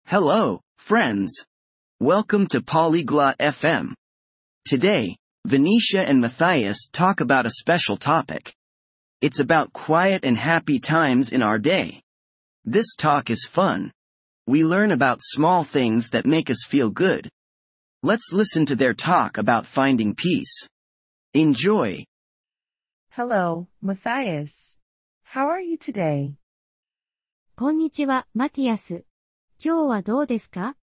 Hello, friends. Welcome to Polyglot FM. Today, Venetia and Matthias talk about a special topic. It's about quiet and happy times in our day. This talk is fun. We learn about small things that make us feel good. Let's listen to their talk about finding peace. Enjoy. Hello, Matthias. How are you today? こんにちは、マティアス。今日はどうですか？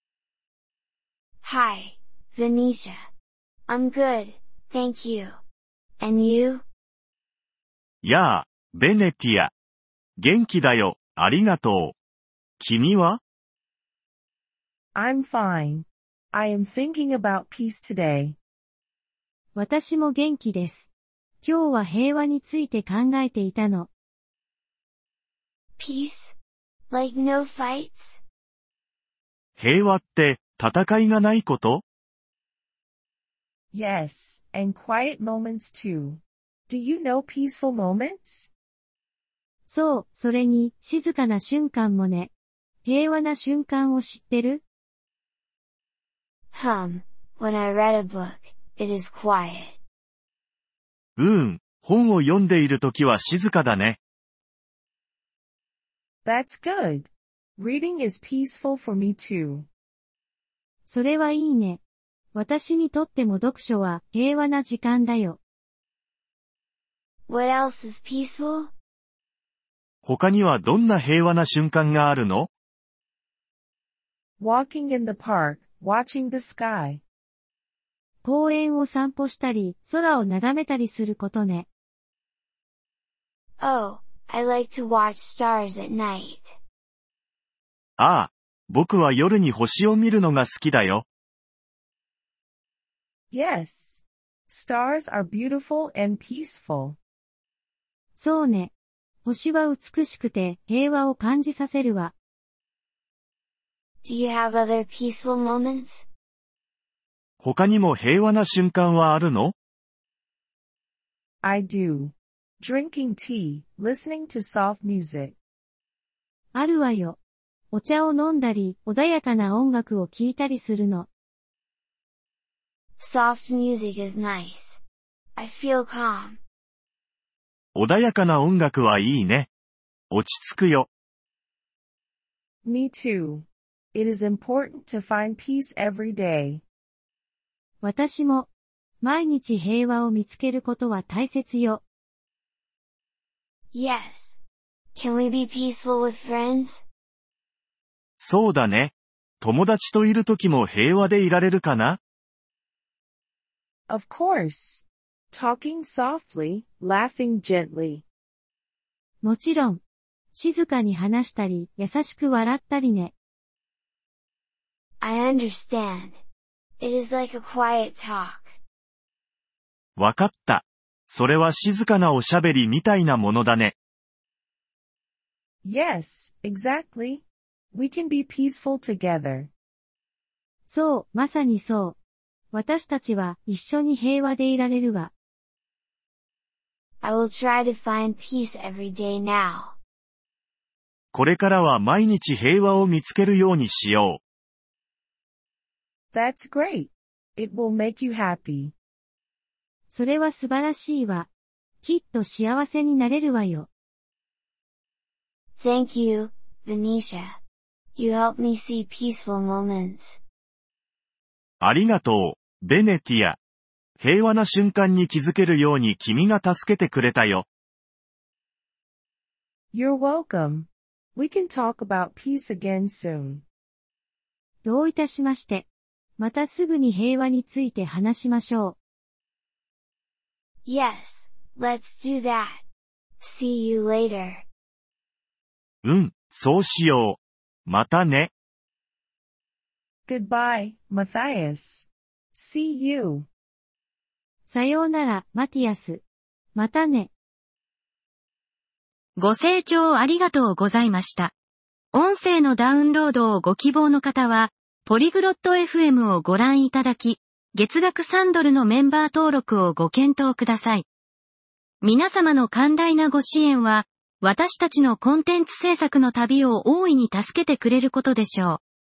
Hi, Venetia. I'm good, thank you. And you? やあ、ベネティア。元気だよ、ありがとう。君は？ I'm fine. I am thinking about peace today. 私も元気です。今日は平和について考えていたの。 Peace? Like no fights? 平和って、戦いがないこと？ Yes, and quiet moments too. Do you know peaceful moments? そう、それに、静かな瞬間もね。平和な瞬間を知ってる？ When I read a book, it is quiet. 本を読んでいるときは静かだね。 That's good. Reading is peaceful for me too. それはいいね。私にとっても読書は平和な時間だよ。 What else is peaceful? 他にはどんな平和な瞬間があるの？ Walking in the park, watching the sky. 公園を散歩したり、空を眺めたりすることね。 Oh, I like to watch stars at night. ああ、僕は夜に星を見るのが好きだよ。 Yes. Stars are beautiful and peaceful. そうね。星は美しくて平和を感じさせるわ。 Do you have other peaceful moments? 他にも平和な瞬間はあるの？ I do. Drinking tea, listening to soft music. あるわよ。お茶を飲んだり、穏やかな音楽を聴いたりするの。 Soft music is nice. I feel calm. 穏やかな音楽はいいね。落ち着くよ。 Me too. It is important to find peace every day. 私も、毎日平和を見つけることは大切よ。 Yes. Can we be peaceful with friends? そうだね。友達といるときも平和でいられるかな？ Of course. Talking softly, laughing gently. もちろん、静かに話したり、優しく笑ったりね。 I understand. It is like a quiet talk. わかった。それは静かなおしゃべりみたいなものだね。 Yes, exactly. We can be peaceful together. そう、まさにそう。私たちは一緒に平和でいられるわ。 I will try to find peace every day now. これからは毎日平和を見つけるようにしよう。 That's great. It will make you happy. それは素晴らしいわ。きっと幸せになれるわよ。 Thank you, Venetia. You help me see peaceful moments. ありがとう、ベネティア。平和な瞬間に気づけるように君が助けてくれたよ。 You're welcome. We can talk about peace again soon. どういたしまして。またすぐに平和について話しましょう。 Yes, let's do that. See you later. そうしよう。またね。 Goodbye, Matthias. See you. さようなら、マティアス。またね。 ご清聴ありがとうございました。音声のダウンロードをご希望の方は、ポリグロット FM をご覧いただき、月額$3のメンバー登録をご検討ください。皆様の寛大なご支援は、私たちのコンテンツ制作の旅を大いに助けてくれることでしょう。